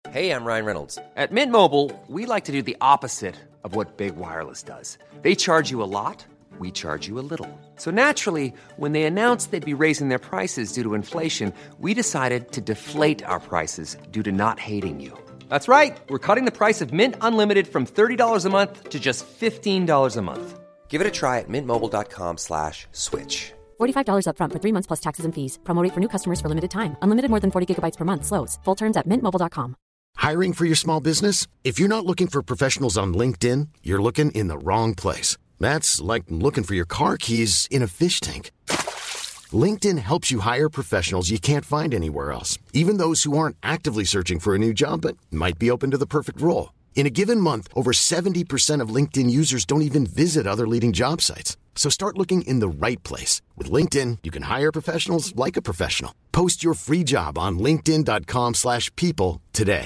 Hey, I'm Ryan Reynolds. At Mint Mobile, we like to do the opposite of what Big Wireless does. They charge you a lot, we charge you a little. So naturally, when they announced they'd be raising their prices due to inflation, we decided to deflate our prices due to not hating you. That's right. We're cutting the price of Mint Unlimited from $30 a month to just $15 a month. Give it a try at mintmobile.com/switch. $45 up front for 3 months plus taxes and fees. Promo rate for new customers for limited time. Unlimited more than 40 gigabytes per month. Slows full terms at mintmobile.com. Hiring for your small business? If you're not looking for professionals on LinkedIn, you're looking in the wrong place. That's like looking for your car keys in a fish tank. LinkedIn helps you hire professionals you can't find anywhere else, even those who aren't actively searching for a new job but might be open to the perfect role. In a given month, over 70% of LinkedIn users don't even visit other leading job sites. So start looking in the right place. With LinkedIn, you can hire professionals like a professional. Post your free job on linkedin.com/people today.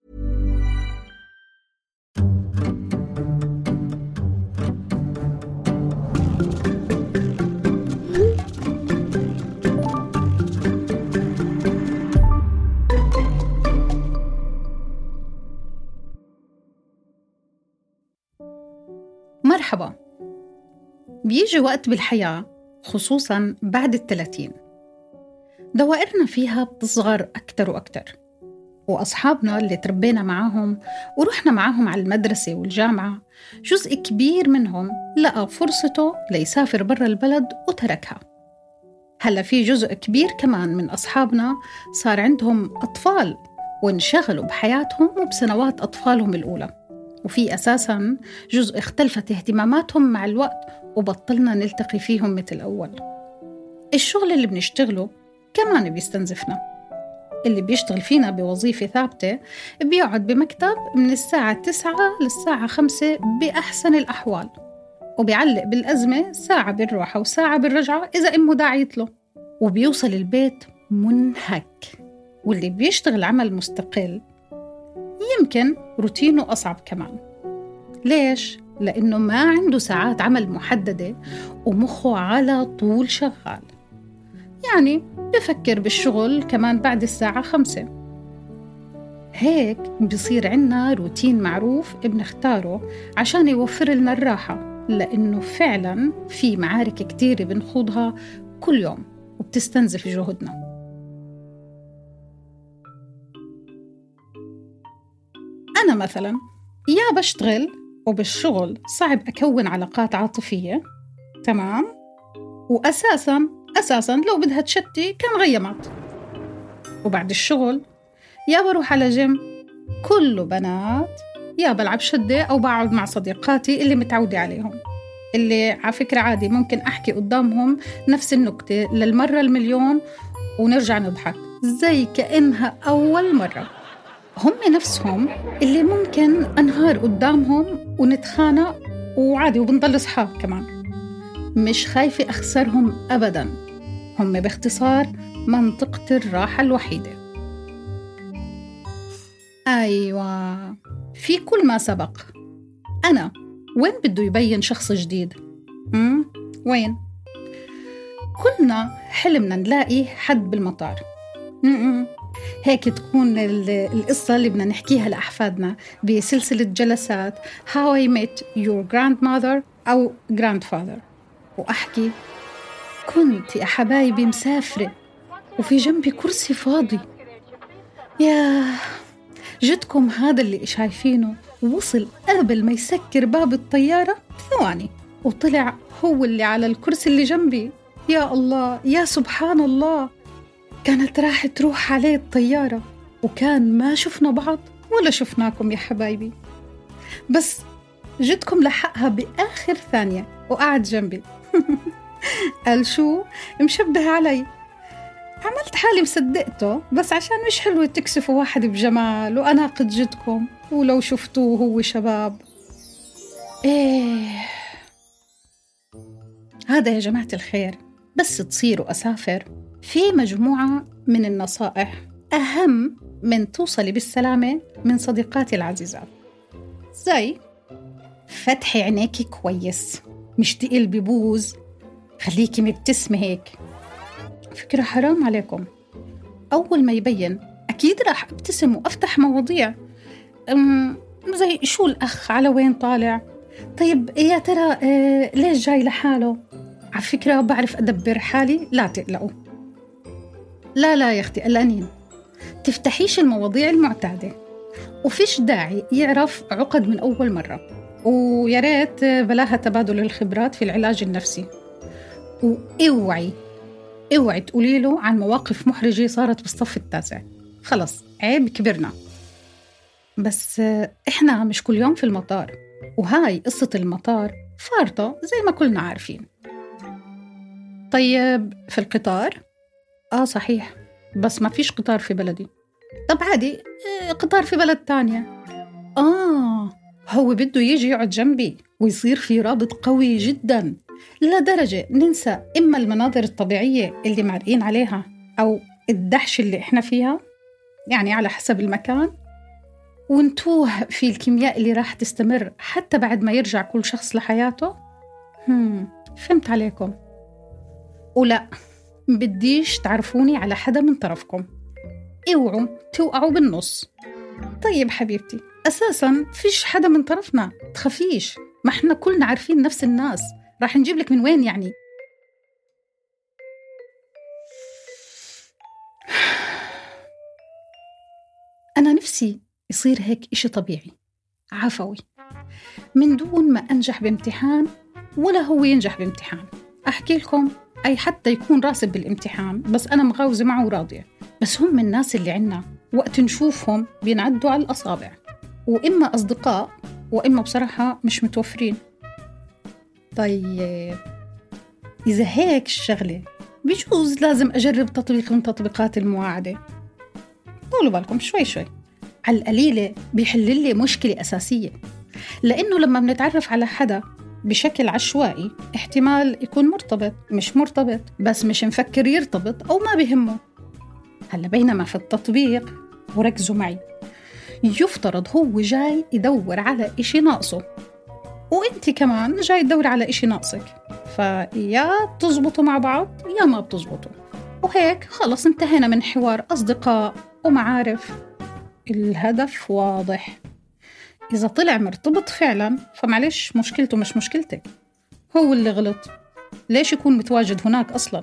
مرحبا. بيجي وقت بالحياة خصوصاً بعد 30 دوائرنا فيها بتصغر أكتر وأكتر، وأصحابنا اللي تربينا معاهم ورحنا معاهم على المدرسة والجامعة جزء كبير منهم لقى فرصته ليسافر برا البلد وتركها. هلأ في جزء كبير كمان من أصحابنا صار عندهم أطفال وانشغلوا بحياتهم وبسنوات أطفالهم الأولى، وفي أساساً جزء اختلفت اهتماماتهم مع الوقت وبطلنا نلتقي فيهم مثل أول. الشغل اللي بنشتغله كمان بيستنزفنا. اللي بيشتغل فينا بوظيفة ثابتة بيقعد بمكتب من الساعة 9 للساعة 5 بأحسن الأحوال، وبيعلق بالأزمة ساعة بالروحة وساعة بالرجعة إذا أمه داعيت له، وبيوصل البيت منهك. واللي بيشتغل عمل مستقل يمكن روتينه أصعب كمان. ليش؟ لأنه ما عنده ساعات عمل محددة ومخه على طول شغال، يعني بفكر بالشغل كمان بعد الساعة 5. هيك بيصير عنا روتين معروف بنختاره عشان يوفر لنا الراحة، لأنه فعلا في معارك كتير بنخوضها كل يوم وبتستنزف جهدنا. أنا مثلا يا بشتغل وبالشغل صعب أكون علاقات عاطفية، تمام، وأساساً لو بدها تشتي كان غيمات. وبعد الشغل يا بروح على جيم كله بنات، يا بلعب شدة أو بقعد مع صديقاتي اللي متعودة عليهم، اللي على فكرة عادي ممكن أحكي قدامهم نفس النكتة للمرة المليون ونرجع نضحك زي كأنها أول مرة. هم نفسهم اللي ممكن أنهار قدامهم ونتخانق وعادي وبنضل أصحاب كمان. مش خايفة أخسرهم أبداً. هم باختصار منطقة الراحة الوحيدة. أيوة، في كل ما سبق أنا وين بده يبين شخص جديد؟ وين؟ كلنا حلمنا نلاقي حد بالمطار. هيك تكون القصة اللي بدنا نحكيها لأحفادنا بسلسلة جلسات How I Met Your Grandmother أو Grandfather، وأحكي كنت يا حبايبي مسافرة وفي جنبي كرسي فاضي. يا جدكم هذا اللي شايفينه وصل قبل ما يسكر باب الطيارة ثواني وطلع هو اللي على الكرسي اللي جنبي. يا الله، يا سبحان الله، كانت راح تروح عليه الطيارة وكان ما شفنا بعض ولا شفناكم يا حبايبي، بس جدكم لحقها بآخر ثانية وقعد جنبي. قال شو مشبه علي؟ عملت حالي مصدقته، بس عشان مش حلوة تكسفوا واحد بجمال وأناقد جدكم ولو شفتوه هو شباب. هذا يا جماعة الخير، بس تصيروا أسافر في مجموعة من النصائح أهم من توصلي بالسلامة من صديقاتي العزيزات، زي فتحي عينيكي كويس، مش تقل ببوز، خليكي مبتسمة هيك. فكرة حرام عليكم، أول ما يبين أكيد راح أبتسم وأفتح مواضيع زي شو الأخ على وين طالع، طيب يا ترى ليش جاي لحاله، على فكرة بعرف أدبر حالي، لا تقلقوا. لا يا أختي قلقانين، تفتحيش المواضيع المعتادة، وفيش داعي يعرف عقد من أول مرة، ويا ريت بلاها تبادل الخبرات في العلاج النفسي. اوعي تقولي له عن مواقف محرجة صارت بالصف التاسع، خلص عيب كبرنا. بس إحنا مش كل يوم في المطار، وهاي قصة المطار فارطة زي ما كلنا عارفين. طيب في القطار؟ صحيح، بس ما فيش قطار في بلدي. طب عادي، قطار في بلد تانية. هو بده يجي يقعد جنبي ويصير في رابط قوي جدا لدرجة ننسى إما المناظر الطبيعية اللي مارقين عليها أو الدهش اللي إحنا فيها، يعني على حسب المكان، ونتوه في الكيمياء اللي راح تستمر حتى بعد ما يرجع كل شخص لحياته. فهمت عليكم. ولا بديش تعرفوني على حدا من طرفكم، اوعوا توقعوا بالنص. طيب حبيبتي، أساساً فيش حدا من طرفنا، تخافيش، ما احنا كلنا عارفين نفس الناس، راح نجيب لك من وين يعني؟ أنا نفسي يصير هيك إشي طبيعي عفوي، من دون ما أنجح بامتحان ولا هو ينجح بامتحان. أحكي لكم، أي حتى يكون راسب بالامتحان بس أنا مغاوزة معه وراضية. بس هم الناس اللي عنا وقت نشوفهم بينعدوا على الأصابع، وإما أصدقاء وإما بصراحة مش متوفرين. طيب إذا هيك الشغلة بيجوز لازم أجرب تطبيق من تطبيقات المواعدة. طولوا بالكم شوي على القليلة بيحل لي مشكلة أساسية، لأنه لما بنتعرف على حدا بشكل عشوائي احتمال يكون مرتبط، مش مرتبط، بس مش مفكر يرتبط أو ما بيهمه. هلا بينما في التطبيق، وركزوا معي، يفترض هو جاي يدور على إشي ناقصه، وإنتي كمان جاي تدور على إشي ناقصك، فيا بتزبطوا مع بعض يا ما بتزبطوا، وهيك خلص انتهينا من حوار أصدقاء ومعارف. الهدف واضح. إذا طلع مرتبط فعلا فمعلش مشكلته مش مشكلتك، هو اللي غلط، ليش يكون متواجد هناك أصلا؟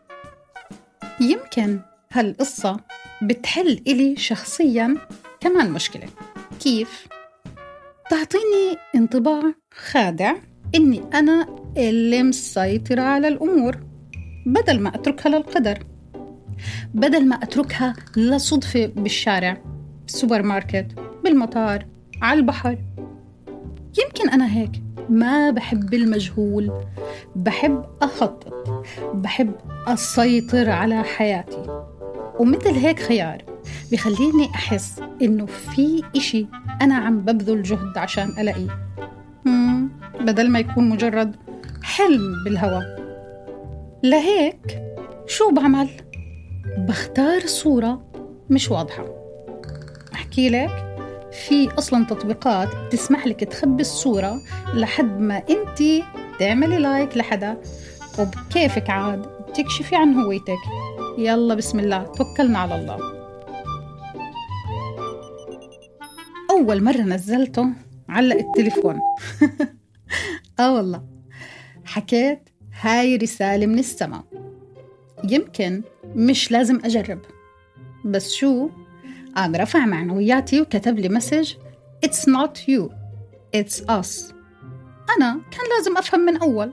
يمكن هالقصة بتحل إلي شخصيا كمان مشكلة. كيف؟ تعطيني انطباع خادع إني أنا اللي مسيطرة على الأمور، بدل ما أتركها للقدر، بدل ما أتركها لصدفة بالشارع، بالسوبر ماركت، بالمطار، على البحر. يمكن أنا هيك ما بحب المجهول، بحب أخطط، بحب أسيطر على حياتي، ومثل هيك خيار بيخليني أحس إنه في إشي أنا عم ببذل جهد عشان ألاقيه، بدل ما يكون مجرد حلم بالهوا. لهيك شو بعمل؟ بختار صورة مش واضحة. أحكي لك، في أصلاً تطبيقات تسمح لك تخبي الصورة لحد ما أنتي تعملي لايك لحدا، وبكيفك عاد تكشفي عن هويتك. يلا بسم الله، توكلنا على الله. أول مرة نزلته علق التليفون والله حكيت هاي رسالة من السماء، يمكن مش لازم أجرب، بس شو قام رفع معنوياتي وكتب لي مسج It's not you, it's us. أنا كان لازم أفهم من أول.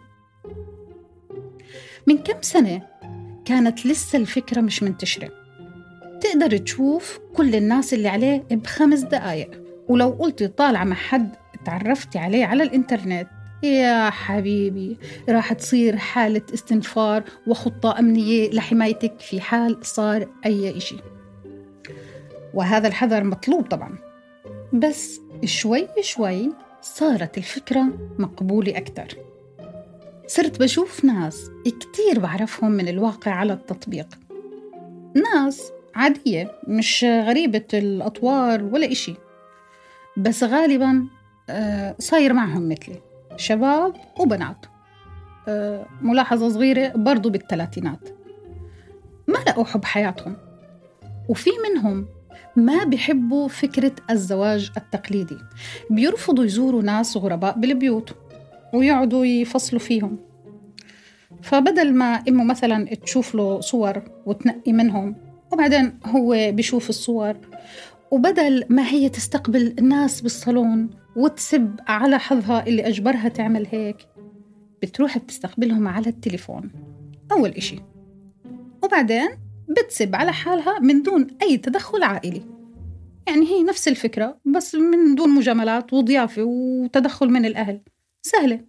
من كم سنة كانت لسه الفكرة مش منتشرة، تقدر تشوف كل الناس اللي عليه ب5 دقايق، ولو قلت طالعة مع حد تعرفتي عليه على الإنترنت، يا حبيبي راح تصير حالة استنفار وخطة أمنية لحمايتك في حال صار أي إشي. وهذا الحذر مطلوب طبعا، بس شوي شوي صارت الفكرة مقبولة أكتر. صرت بشوف ناس كتير بعرفهم من الواقع على التطبيق، ناس عادية مش غريبة الأطوار ولا إشي، بس غالبا صاير معهم مثلي، شباب وبنات، ملاحظة صغيرة برضو بالثلاثينات، ما لقوا حب حياتهم، وفي منهم ما بيحبوا فكرة الزواج التقليدي، بيرفضوا يزوروا ناس غرباء بالبيوت ويقعدوا يفصلوا فيهم. فبدل ما إمه مثلا تشوف له صور وتنقي منهم وبعدين هو بيشوف الصور، وبدل ما هي تستقبل الناس بالصالون وتسب على حظها اللي أجبرها تعمل هيك، بتروح بتستقبلهم على التليفون أول إشي، وبعدين بتسب على حالها من دون أي تدخل عائلي. يعني هي نفس الفكرة بس من دون مجاملات وضيافة وتدخل من الأهل، سهلة.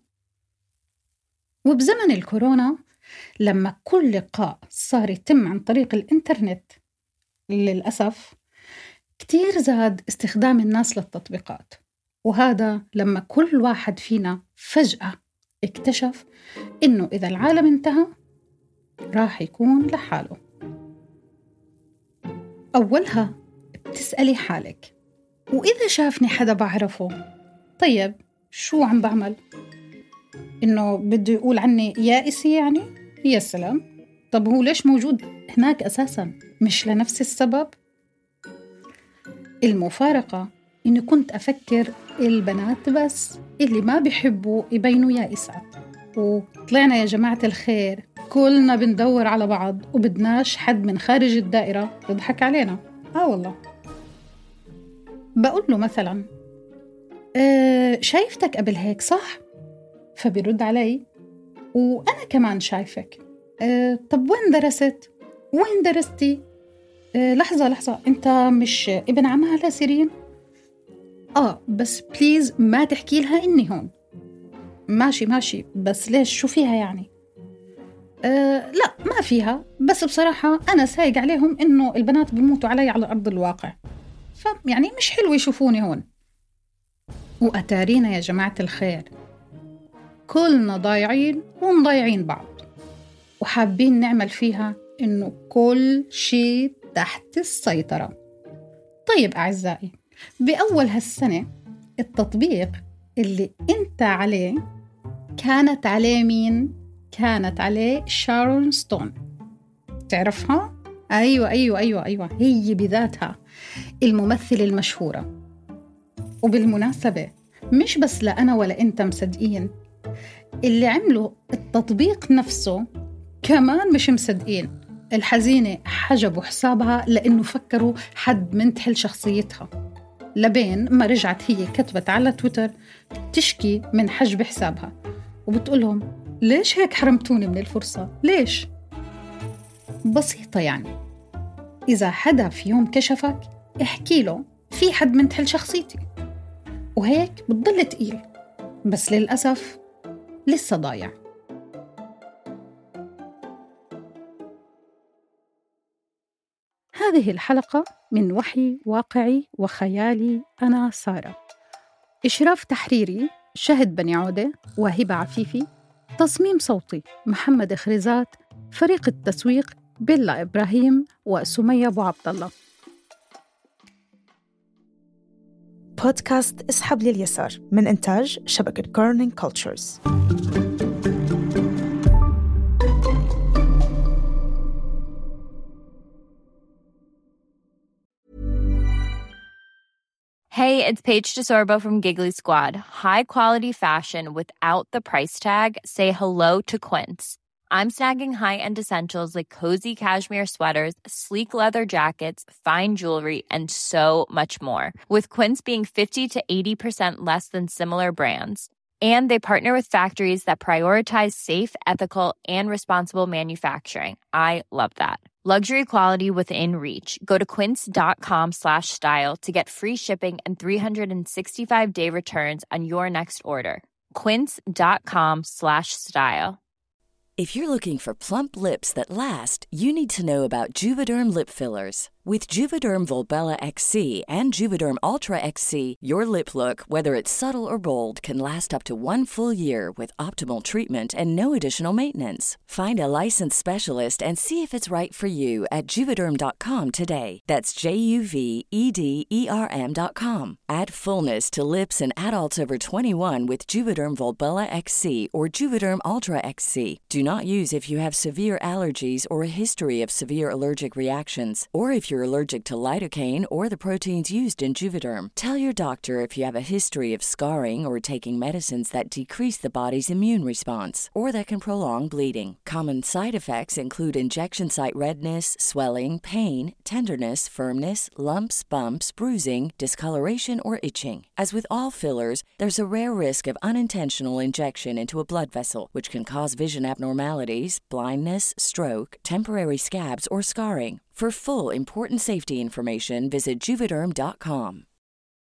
وبزمن الكورونا لما كل لقاء صار يتم عن طريق الإنترنت، للأسف كتير زاد استخدام الناس للتطبيقات، وهذا لما كل واحد فينا فجأة اكتشف إنه إذا العالم انتهى راح يكون لحاله. أولها بتسألي حالك، وإذا شافني حدا بعرفه طيب شو عم بعمل؟ إنه بده يقول عني يائسي يعني؟ يا سلام، طب هو ليش موجود هناك أساساً؟ مش لنفس السبب؟ المفارقة إني كنت أفكر البنات بس اللي ما بيحبوا يبينوا يائسات، وطلعنا يا جماعة الخير كلنا بندور على بعض وبدناش حد من خارج الدائرة يضحك علينا. والله بقول له مثلا شايفتك قبل هيك صح؟ فبيرد علي وأنا كمان شايفك. طب وين درست؟ وين درستي؟ لحظة أنت مش ابن عمها لسيرين؟ بس بليز ما تحكي لها إني هون. ماشي بس ليش شو فيها يعني؟ لا ما فيها، بس بصراحة أنا سايق عليهم إنه البنات بيموتوا علي على أرض الواقع، فيعني مش حلو يشوفوني هون. وأتارينا يا جماعة الخير كلنا ضايعين ومضايعين بعض، وحابين نعمل فيها إنه كل شيء تحت السيطرة. طيب أعزائي، بأول هالسنة التطبيق اللي أنت عليه كانت عليه مين؟ كانت عليه شارون ستون، تعرفها؟ أيوة هي بذاتها الممثلة المشهورة. وبالمناسبة مش بس لا أنا ولا أنت مصدقين، اللي عملوا التطبيق نفسه كمان مش مصدقين. الحزينة حجبوا حسابها لأنه فكروا حد منتحل شخصيتها، لبين ما رجعت هي كتبت على تويتر تشكي من حجب حسابها وبتقولهم ليش هيك حرمتوني من الفرصة؟ ليش؟ بسيطة يعني، إذا حدا في يوم كشفك احكي له في حد منتحل شخصيتي، وهيك بتضل تقيل، بس للأسف لسه ضايع. هذه الحلقة من وحي واقعي وخيالي، أنا سارة. إشراف تحريري شهد بني عودة وهبة عفيفي. تصميم صوتي محمد خريزات. فريق التسويق بيلا إبراهيم وسمية أبو عبد الله. بودكاست اسحب لليسار من إنتاج شبكة كورنينج كولتشرز. Hey, it's Paige DeSorbo from Giggly Squad. High quality fashion without the price tag. Say hello to Quince. I'm snagging high-end essentials like cozy cashmere sweaters, sleek leather jackets, fine jewelry, and so much more. With Quince being 50 to 80% less than similar brands. And they partner with factories that prioritize safe, ethical, and responsible manufacturing. I love that. Luxury quality within reach. Go to quince.com/style to get free shipping and 365-day returns on your next order. Quince.com/style. If you're looking for plump lips that last, you need to know about Juvederm lip fillers. With Juvederm Volbella XC and Juvederm Ultra XC, your lip look, whether it's subtle or bold, can last up to 1 full year with optimal treatment and no additional maintenance. Find a licensed specialist and see if it's right for you at Juvederm.com today. That's JUVEDERM.com. Add fullness to lips in adults over 21 with Juvederm Volbella XC or Juvederm Ultra XC. Do not use if you have severe allergies or a history of severe allergic reactions, or if you're allergic to lidocaine or the proteins used in Juvederm. Tell your doctor if you have a history of scarring or taking medicines that decrease the body's immune response or that can prolong bleeding. Common side effects include injection site redness, swelling, pain, tenderness, firmness, lumps, bumps, bruising, discoloration, or itching. As with all fillers, there's a rare risk of unintentional injection into a blood vessel, which can cause vision abnormalities, blindness, stroke, temporary scabs, or scarring. For full, important safety information, visit Juvederm.com.